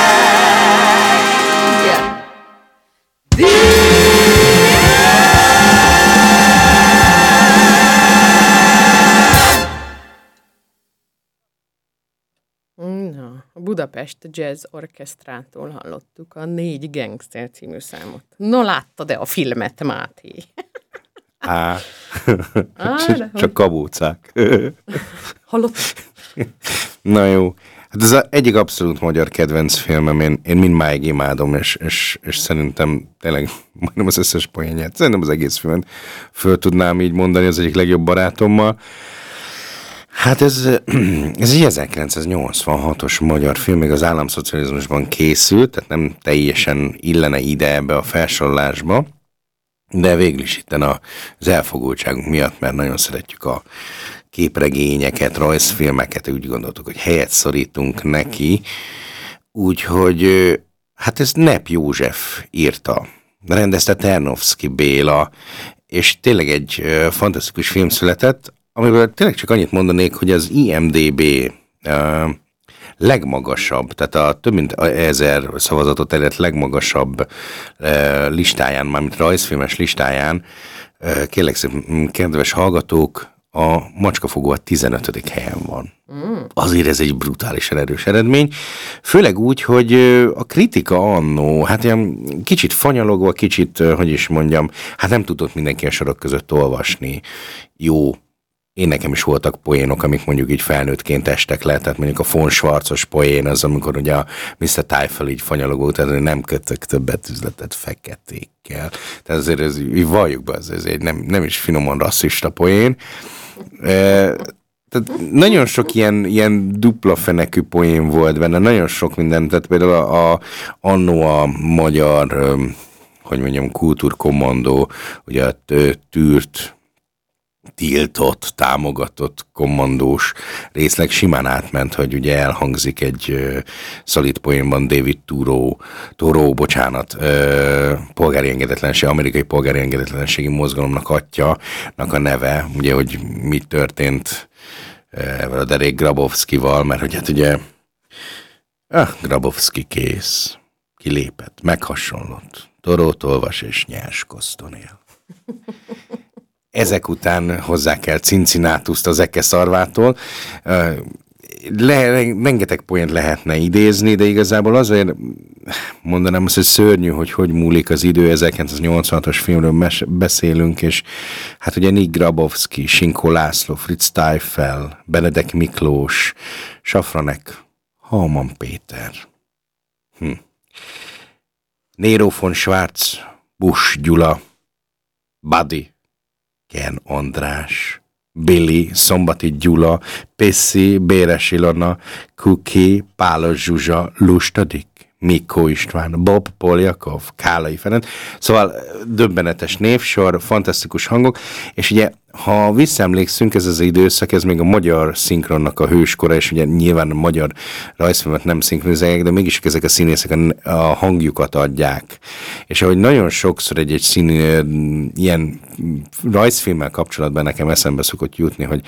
Na, a Budapest Jazz Orchestrától hallottuk a Négy Gangster című számot. No, láttad-e a filmet, Máté? Á, Á, de hogy- csak kabócák. Hallott? Na jó. Hát ez az egyik abszolút magyar kedvenc filmem, én, én mindmáig imádom, és, és, és szerintem tényleg majdnem az összes poénját, szerintem az egész filmet föl tudnám így mondani az egyik legjobb barátommal. Hát ez, ez egy ezerkilencszáznyolcvanhatos magyar film, még az államszocializmusban készült, tehát nem teljesen illene ide ebbe a felsorolásba, de végül is itten az elfogultságunk miatt, mert nagyon szeretjük a képregényeket, rajzfilmeket, úgy gondoltuk, hogy helyet szorítunk neki, úgyhogy hát ezt Nepp József írta, rendezte Ternovszky Béla, és tényleg egy fantasztikus film született, amiből tényleg csak annyit mondanék, hogy az I M D B uh, legmagasabb, tehát a több mint ezer szavazatot elért legmagasabb uh, listáján, mármint rajzfilmes listáján, uh, kérlek szépen, kedves hallgatók, a Macskafogó a tizenötödik helyen van. Mm. Azért ez egy brutálisan erős eredmény. Főleg úgy, hogy a kritika annó, hát ilyen kicsit fanyalogva, kicsit, hogy is mondjam, hát nem tudott mindenki a sorok között olvasni. Jó, én nekem is voltak poénok, amik mondjuk így felnőttként estek le, tehát mondjuk a von Schwarzos poén az, amikor ugye a miszter Tyfel így fanyalogó, tehát nem kötök többet üzletet feketékkel. Tehát azért ez, így valljuk be, ez egy nem, nem is finoman rasszista poén. E, tehát nagyon sok ilyen, ilyen dupla fenekű poén volt benne, nagyon sok minden, tehát például a, a, annó a magyar, hogy mondjam, kultúrkommandó, ugye a tűrt, tiltott, támogatott kommandós részleg simán átment, hogy ugye elhangzik egy uh, szolid poénban David Thoreau, Thoreau, bocsánat, uh, polgári engedetlenség, amerikai polgári engedetlenségi mozgalomnak atyának a neve, ugye, hogy mi történt uh, a derék Grabowskival, mert hogy hát ugye ah, Grabowski kész, kilépett, meghasonlott, Thoreaut olvas és nyers koszton él. Ezek után hozzá kell Cincinnatuszt az Eke szarvától. Le, rengeteg poént lehetne idézni, de igazából azért mondanám azt, hogy szörnyű, hogy hogy múlik az idő. ezerkilencszáznyolcvanhatos filmről mes- beszélünk, és hát ugye Nick Grabowski, Sinkó László, Fritz Tyfel, Benedek Miklós, Safranek, Hauman Péter. Hm. Nero von Schwarz, Busch Gyula, Buddy, Ken András, Billy, Szombati Gyula, Pessi, Béres Ilona, Kuki, Pálos Zsuzsa, Lustadik, Mikó István, Bob Poljakov, Kálai Ferenc. Szóval döbbenetes névsor, fantasztikus hangok, és ugye, ha visszaemlékszünk, ez az időszak, ez még a magyar szinkronnak a hőskora, és ugye nyilván a magyar rajzfilmet nem szinkronizálják, de mégis ezek a színészek a, a hangjukat adják. És ahogy nagyon sokszor egy-egy szín, ilyen rajzfilmmel kapcsolatban nekem eszembe szokott jutni, hogy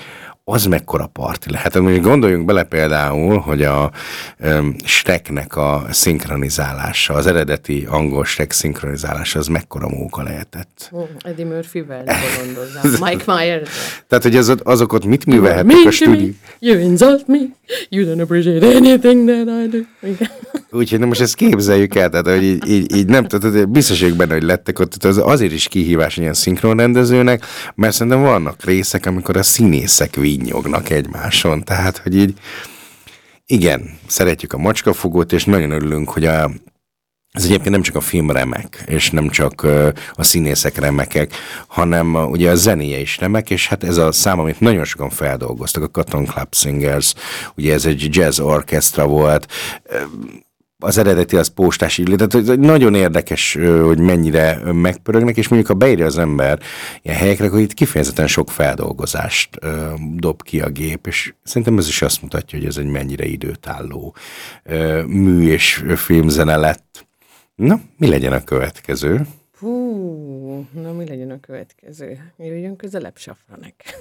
az mekkora parti lehet. Gondoljunk bele például, hogy a um, Shreknek a szinkronizálása, az eredeti angol Shrek szinkronizálása, az mekkora móka lehetett. Eddie Murphy-vel gondolzám. Mike Myers. Tehát, hogy az, azok ott mit művelhettek a stúdió? You insult me, you don't appreciate anything that I do. Úgyhogy na most ezt képzeljük el, tehát hogy így, így, így nem, tehát biztos vagyok benne, hogy lettek ott, tehát az azért is kihívás ilyen szinkronrendezőnek, mert szerintem vannak részek, amikor a színészek vinnyognak egymáson, tehát hogy így igen, szeretjük a macskafogót, és nagyon örülünk, hogy a ez egyébként nem csak a film remek, és nem csak uh, a színészek remekek, hanem uh, ugye a zenéje is remek, és hát ez a szám, amit nagyon sokan feldolgoztak, a Cotton Club Singers, ugye ez egy jazz orchestra volt, uh, az eredeti az postás illé, tehát nagyon érdekes, hogy mennyire megpörögnek, és mondjuk ha beírja az ember ilyen helyekre, akkor itt kifejezetten sok feldolgozást uh, dob ki a gép, és szerintem ez is azt mutatja, hogy ez egy mennyire időtálló uh, mű és filmzene lett. Na, mi legyen a következő? Hú, na mi legyen a következő? Jöjjön közelebb Safranek.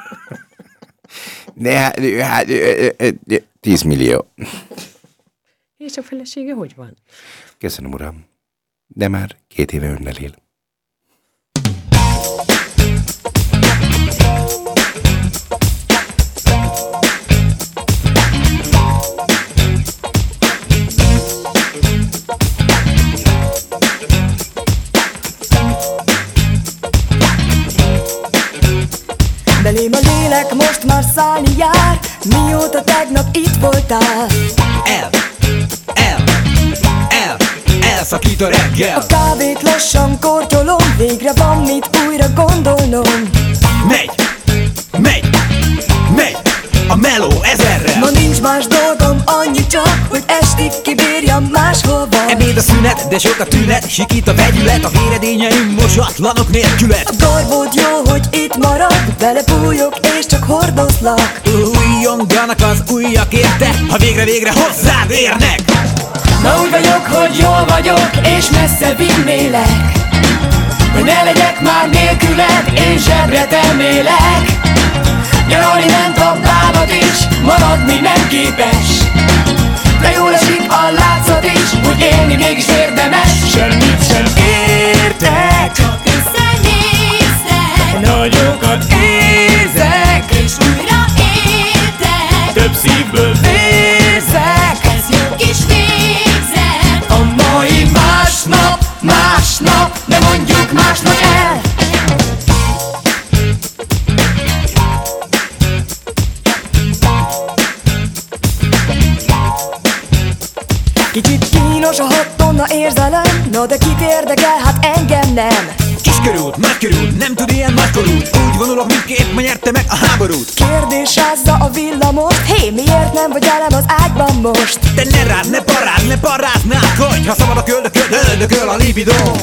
De hát, hát tíz millió. És a felesége hogy van? Köszönöm, uram. De már két éve önnel él. Belém a lélek most már szállni jár, mióta tegnap itt voltál. El, el, el, elszakít a reggel. A kávét lassan kortyolom, végre van mit újra gondolnom. Megy, megy, megy, a meló ezerrel. Ma nincs más dolgom, annyi csak, hogy estig kibírjam máshova. Ebéd a szünet, de sok a tünet, sikít a vegyület, a véredényeim mosatlanok nélkület. A garbód jó, hogy itt marad, belepújok és csak hordozlak. Újjonganak az ujjak érte, ha végre-végre hozzád érnek. Ma úgy vagyok, hogy jól vagyok, és messze vinnélek, hogy ne legyek már nélküled, én zsebre temélek. Nyaralni ment a bánat is, maradni nem képes, de jól esik a látszat is, hogy élni mégis érdemes. Semmit sem értek, Csak összenéztek, nagyokat érzek, és újra értek. több szívből vérzek. Ez jó kis végzet. A mai másnap, másnap, de mondjuk másnap el. Kicsit kínos a hat tonna érzelem, no de kit érdekel, hát engem nem. Kiskörút, nagykörút, nem tud ilyen nagykorút. Úgy vonulok, mindképp ma nyerte meg a háborút. Kérdésázza a villamos, hé, miért nem vagy velem az ágyban most? Te ne rád, ne parád, ne paráznál, hogy ha szabad a köldököd, öldököl a libidóm.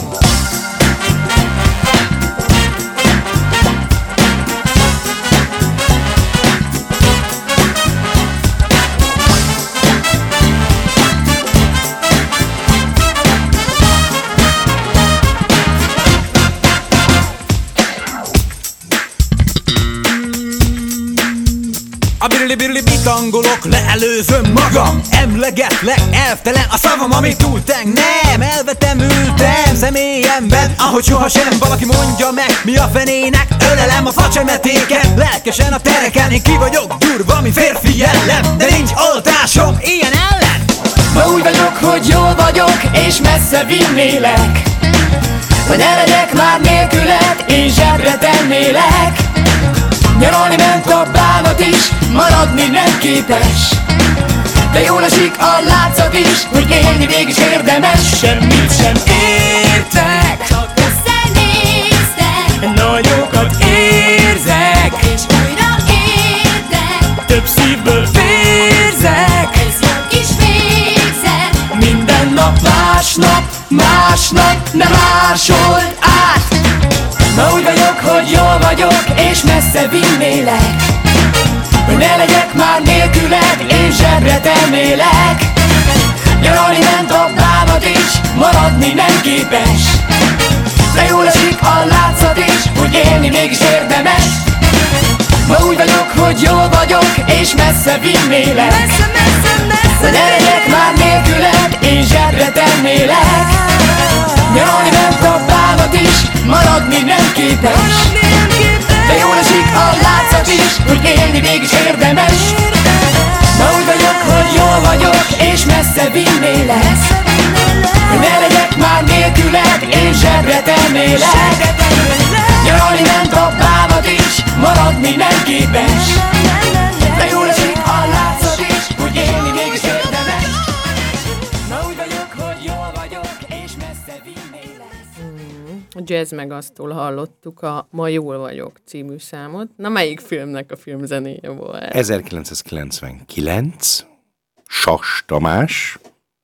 A birli-birli bitangolok, leelőzöm magam. Emlegetlek, elvtelen a szavam, amit túlteng. Nem, elvetemültem személyemben, ahogy sohasem. Valaki mondja meg, mi a fenének, ölelem a facsemetéket. Lelkesen a tereken, én ki vagyok durva, mint férfi jellem. De nincs oltásom ilyen ellen. Ma úgy vagyok, hogy jól vagyok, és messze vinnélek, hogy ne legyek már nélküled, én zsebre tennélek. Nyaralni ment a bánat is, maradni nem képes, de jól esik a látszat is, hogy élni mégis érdemes. Semmit sem értek, Csak összenéztek, nagyokat érzek, és újra értek. több szívből vérzek. Ez jó kis végzet. Minden nap másnap, másnap nem másolt át. Ma úgy vagyok, hogy jól vagyok, és messze vinnélek, hogy ne legyek már nélküled, én zsebre temélek. Nyaralni ment a bánat is, maradni nem képes, de jól esik a látszat is, hogy élni mégis érdemes. Ma úgy vagyok, hogy jól vagyok, és messze vinnélek. Messze, messze, messze, de ne legyek már nélküled, én zsebre tennélek. Nyaralni ment a bánat is, maradni nem képes. De jól esik a látszat is, hogy élni mégis érdemes. Ma úgy vagyok, hogy jól vagyok, és messze vinnélek. Hogy ne legyek már nélküled, én zsebre tennélek. Nyaralni ment a bánat is, maradni nem képes. De jól esik a látszat is, hogy élni mégis érdemes. Ma úgy vagyok, hogy jól vagyok, és messze vinnélek. A Jazz Megasztól hallottuk a Ma jól vagyok című számot. Na, melyik filmnek a filmzenéje volt? ezerkilencszázkilencvenkilenc, Sas Tamás.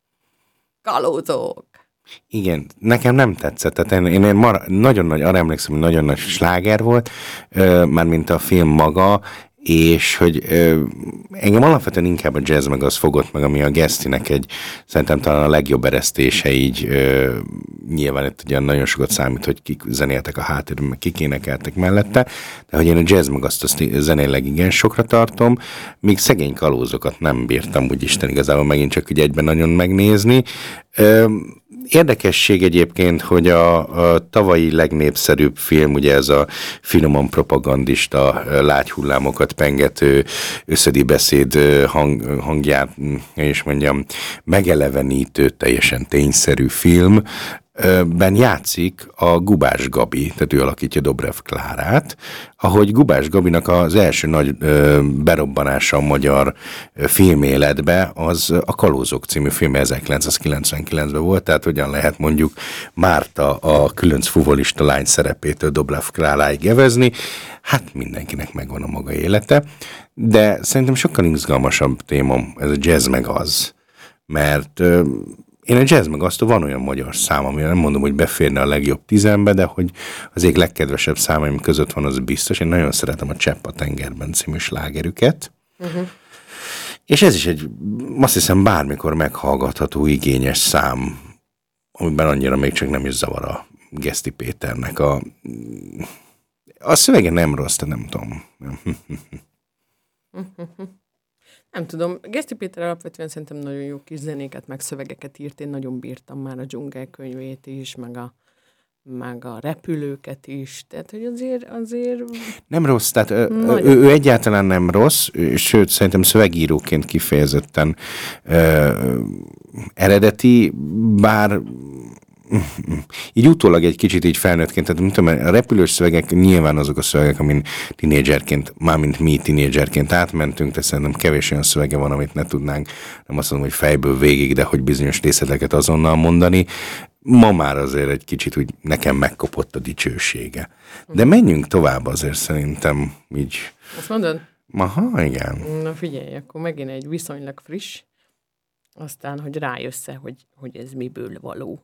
Kalózok. Igen, nekem nem tetszett. Tehát én, én, én mar, nagyon nagy, arra emlékszem, hogy nagyon nagy sláger volt, mármint a film maga, és hogy ö, engem alapvetően inkább a Jazz meg az fogott meg, ami a Gesztinek egy, szerintem talán a legjobb eresztése így, ö, nyilván itt ugye nagyon sokat számít, hogy kik zenéltek a háttérben, meg kik énekeltek mellette, de hogy én a Jazz meg azt, azt zenéleg igen sokra tartom, míg szegény kalózokat nem bírtam, úgy Isten igazából megint csak úgy egyben nagyon megnézni. Ö, Érdekesség egyébként, hogy a, a tavalyi legnépszerűbb film, ugye ez a finoman propagandista, lágy hullámokat pengető, összedi beszéd hang, hangját, és mondjam, megelevenítő, teljesen tényszerű film, ben játszik a Gubás Gabi, tehát ő alakítja Dobrev Klárát, ahogy Gubás Gabinak az első nagy ö, berobbanása a magyar ö, filméletbe, az a Kalózok című film ezerkilencszázkilencvenkilencben volt, tehát hogyan lehet mondjuk Márta a különc fuvolista lány szerepétől Dobrev Kláráig evezni, hát mindenkinek megvan a maga élete, de szerintem sokkal izgalmasabb téma ez a Jazz meg az, mert ö, én a Jazz meg azt, van olyan magyar szám, amire nem mondom, hogy beférne a legjobb tizenbe, de hogy az egyik legkedvesebb számaim között van, az biztos. Én nagyon szeretem a Csepp a tengerben című slágerüket. Uh-huh. És ez is egy, azt hiszem, bármikor meghallgatható, igényes szám, amiben annyira még csak nem is zavar a Geszti Péternek. A, a szövege nem rossz, de nem tudom. Nem tudom, Geszti Péter alapvetően szerintem nagyon jó kis zenéket, meg szövegeket írt, én nagyon bírtam már a Dzsungel könyvét is, meg a, meg a repülőket is, tehát hogy azért... azért... Nem rossz, tehát ő, ő, ő egyáltalán nem rossz, sőt szerintem szövegíróként kifejezetten ö, eredeti, bár... így utólag egy kicsit így felnőttként, tehát tudom, a repülős szövegek nyilván azok a szövegek, amin tinédzserként, mármint mi tinédzserként átmentünk, de szerintem kevés olyan szövege van, amit ne tudnánk, nem azt mondom, hogy fejből végig, de hogy bizonyos részleteket azonnal mondani. Ma már azért egy kicsit úgy nekem megkopott a dicsősége. De menjünk tovább azért szerintem így. Azt mondod? Aha, igen. Na figyelj, akkor megint egy viszonylag friss, aztán, hogy rájössz, hogy, hogy ez miből való.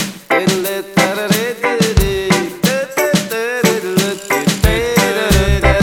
Da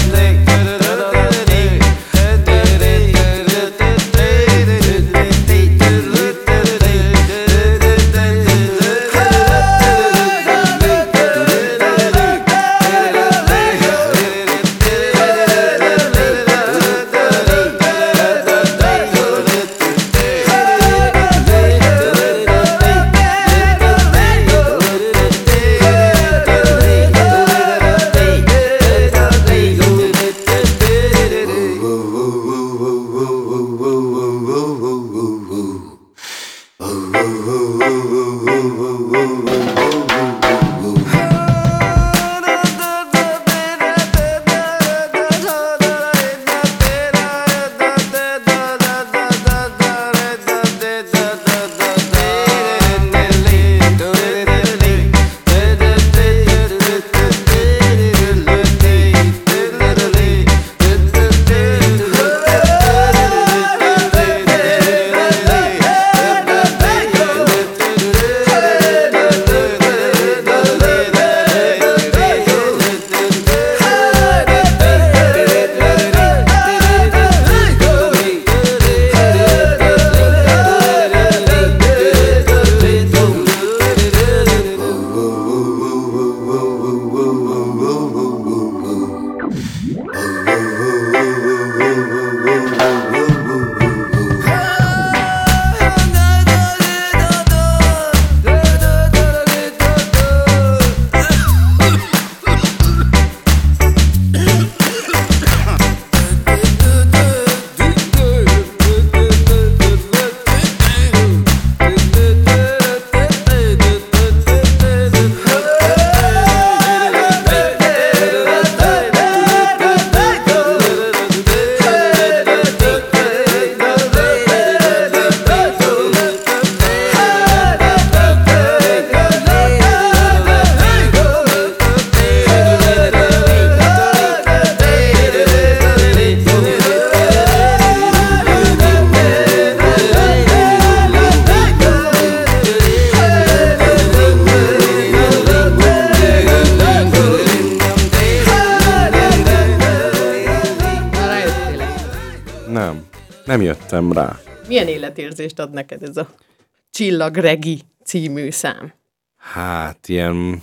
Nem jöttem rá. Milyen életérzést ad neked ez a Csillag Regi című szám? Hát, ilyen...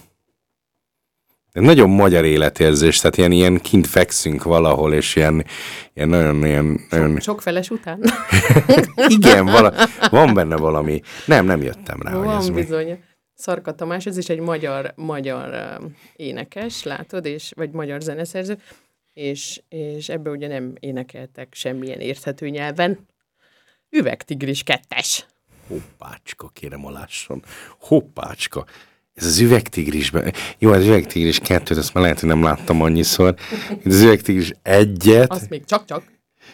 nagyon magyar életérzés, tehát ilyen, ilyen kint fekszünk valahol, és ilyen, ilyen nagyon... Ilyen, nagyon... Sok feles után? Igen, vala, van benne valami. Nem, nem jöttem rá, van, hogy ez bizony. mi. Szarka Tamás, ez is egy magyar, magyar uh, énekes, látod, és, vagy magyar zeneszerző, és, és ebből ugye nem énekeltek semmilyen érthető nyelven. Üvegtigris kettes. Hoppácska, kérem alásson. Hoppácska. Ez az Üvegtigrisben. Jó, az Üvegtigris kettőt, azt már lehet, hogy nem láttam annyiszor. Az Üvegtigris egyet. Azt még csak-csak.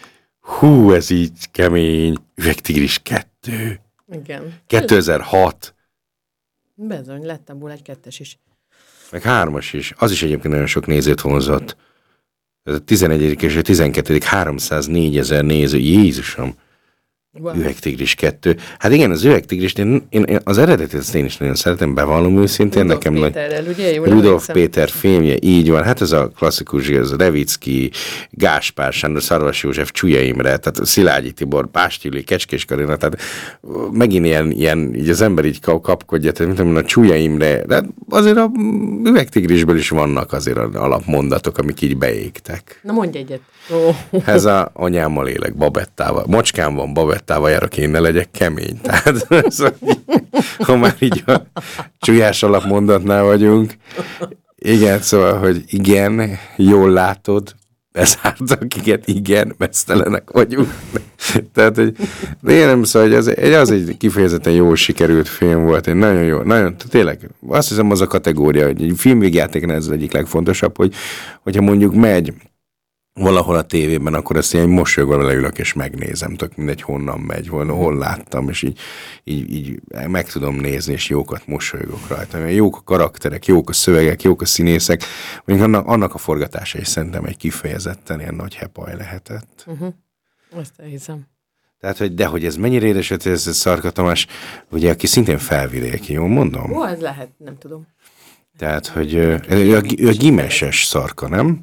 Hú, ez így kemény. Üvegtigris kettő. Igen. kétezer-hat. Bezony, lett abból egy kettes is. Meg hármas is. Az is egyébként nagyon sok nézőt vonzott. Ez a tizenegyedik és a tizenkettedik háromszáznégyezer néző. Jézusom. Wow. Üvegtigris kettő. Hát igen, az Üvegtigris, én, én, az eredetet ezt én is nagyon szeretem, bevallom őszintén. Rudolf nekem Péterrel, nagy... ugye? Jól Rudolf emlékszem. Péter filmje, így van. Hát ez a klasszikus, ez a Revicki, Gáspár Sándor, Szarvas József, Csúlya Imre, tehát Szilágyi Tibor, Pástili, Kecskés Karina, tehát megint ilyen, ilyen így az ember így kapkodja, tehát mint a Csúlya Imre, de azért a Üvegtigrisből is vannak azért alapmondatok, amik így beégtek. Na mondj egyet. Oh. Ez a anyámmal élek, Babettával. Macskám van, Babettával járok, én ne legyek kemény. Tehát, szóval, ha már így a csúlyás alapmondatnál vagyunk. Igen, szóval, hogy igen, jól látod, bezártak, igen, igen, mesztelenek vagyunk. Tehát, hogy én nem szóval, hogy az, az egy kifejezetten jól sikerült film volt. Én nagyon jó, nagyon, tényleg, azt hiszem az a kategória, hogy egy filmvégjátéknál ez az egyik legfontosabb, hogy, hogyha mondjuk megy valahol a tévében, akkor ezt ilyen mosolyogva leülök és megnézem, tök mindegy honnan megy, hol, hol láttam, és így, így, így meg tudom nézni, és jókat mosolygok rajta. Jók a karakterek, jók a szövegek, jók a színészek, mondjuk annak, annak a forgatása is szerintem egy kifejezetten ilyen nagy hepaj lehetett. Uh-huh. Azt elhiszem. Tehát, hogy de hogy ez mennyire édesült, ez a Szarka Tamás, ugye, aki szintén felvidéki, jól mondom? Ó, ez lehet, nem tudom. Tehát, hogy ő a, a gimeses Szarka, nem?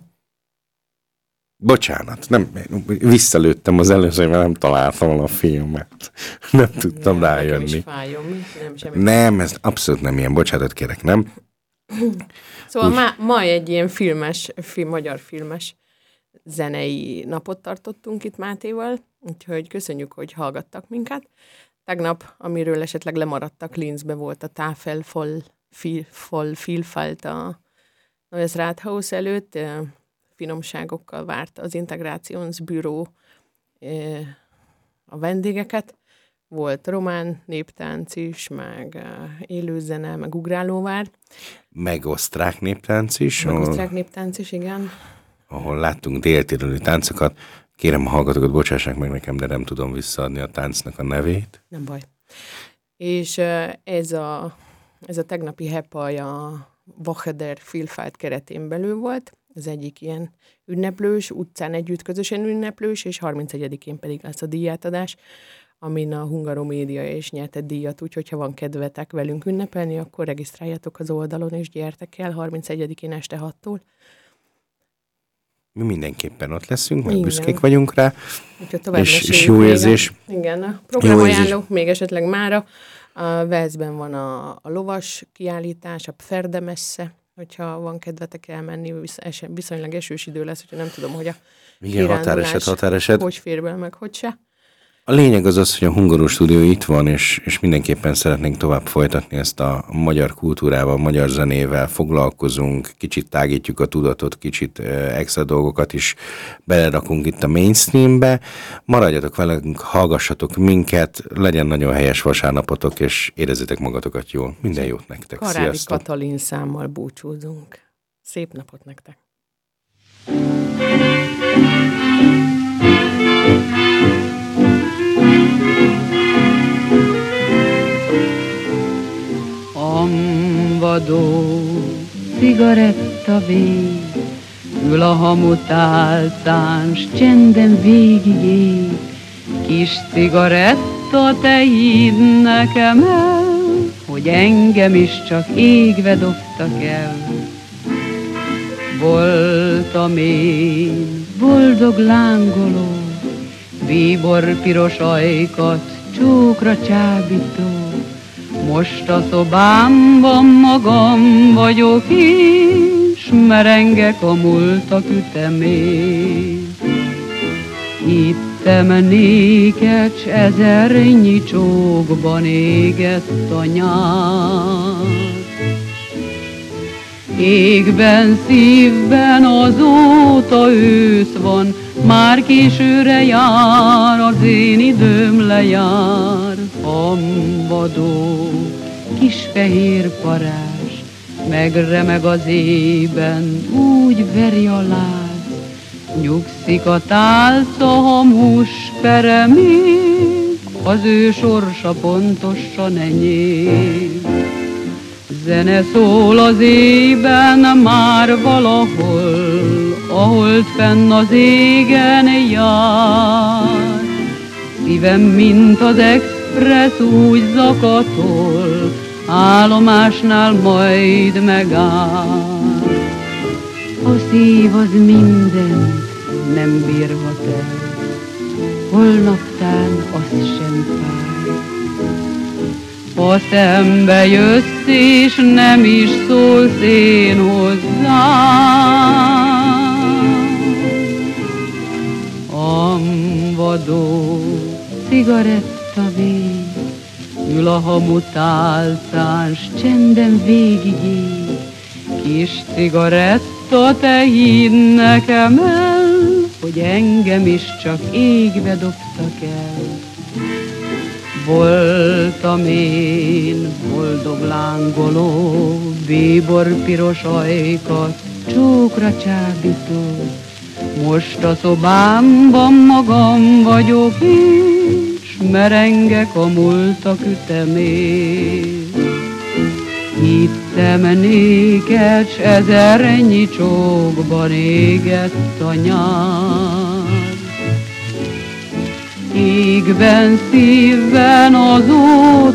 Bocsánat, nem, visszalőttem az előző, mert nem találtam a filmet. Nem tudtam nem, rájönni. Fájom, nem, semmi. Nem, ez abszolút nem ilyen, bocsánatot kérek, nem? Szóval ma, ma egy ilyen filmes, film, magyar filmes zenei napot tartottunk itt Mátéval, úgyhogy köszönjük, hogy hallgattak minket. Tegnap, amiről esetleg lemaradtak, Linzbe volt a Tafel voll, voll Vielfalt a Neues Rathaus előtt, finomságokkal várt az Integrationsbüró a vendégeket. Volt román néptánc is, meg élőzene, meg ugrálóvár. Meg osztrák néptánc is. Meg ahol, osztrák néptánc is, igen. Ahol láttunk déltiroli táncokat. Kérem a hallgatókat, bocsássák meg nekem, de nem tudom visszaadni a táncnak a nevét. Nem baj. És ez a, ez a tegnapi hepaj a Woche der Vielfalt keretén belül volt. Az egyik ilyen ünneplős, utcán együtt közösen ünneplős, és harmincegyedikén pedig lesz a díjátadás, amin a Hungaromédia is nyert egy díjat, úgyhogy ha van kedvetek velünk ünnepelni, akkor regisztráljatok az oldalon, és gyertek el harmincegyedikén este hattól. Mi mindenképpen ott leszünk, meg Igen. büszkék vagyunk rá, és, és jó jó érzés. A, igen, a programajánló, még esetleg mára. A Velszben van a, a lovas kiállítás, a Pferdemesse, hogyha van kedvetek elmenni, visz, viszonylag esős idő lesz, hogyha nem tudom, hogy a igen, határeset, határeset. Hogy fér be, meg hogy se. A lényeg az az, hogy a Hungaró stúdió itt van, és, és mindenképpen szeretnénk tovább folytatni ezt a magyar kultúrával, a magyar zenével foglalkozunk, kicsit tágítjuk a tudatot, kicsit extra dolgokat is belerakunk itt a mainstreambe. Maradjatok velünk, hallgassatok minket, legyen nagyon helyes vasárnapotok, és érezzétek magatokat jól. Minden jót nektek. Karádi Sziasztok. Katalin számmal búcsúzunk. Szép napot nektek! Vadó cigaretta vég, ül a hamutálcán, s csenden végig ég. Kis cigaretta, te hidd nekem el, hogy engem is csak égve dobtak el. Voltam én boldog lángoló, bíbor piros ajkat, csókra csábító. Most a szobámban magam vagyok, és merengek a múltak ütemén. Hittem néked, s ezernyi csókban égett a nyár. Égben, szívben azóta ősz van, már későre jár, az én időm lejár. Hambadó, kis fehér parázs, megremeg az ében, úgy veri a láz. Nyugszik a tálca, hamus peremén, az ő sorsa pontosan enyém. Zene szól az ében már valahol, a hold fenn az égen jár. Szívem, mint az expressz, úgy zakatol, állomásnál majd megáll. A szív az mindent nem bírhat el, holnaptán az sem fáj. Ha szembe jössz és nem is szólsz én hozzám, amvadó cigarettavég ül a hamutálcán, s csenden végigég. Kis cigaretta, te hidd nekem el, hogy engem is csak égbe dobtak el. Voltam én boldog lángoló, bíbor piros ajkat, csókra csábító. Most a szobámban magam vagyok, és merengek a múltak ütemén. Hittem néked, s ezernyi csókban égett a nyár. Égben, szívben azóta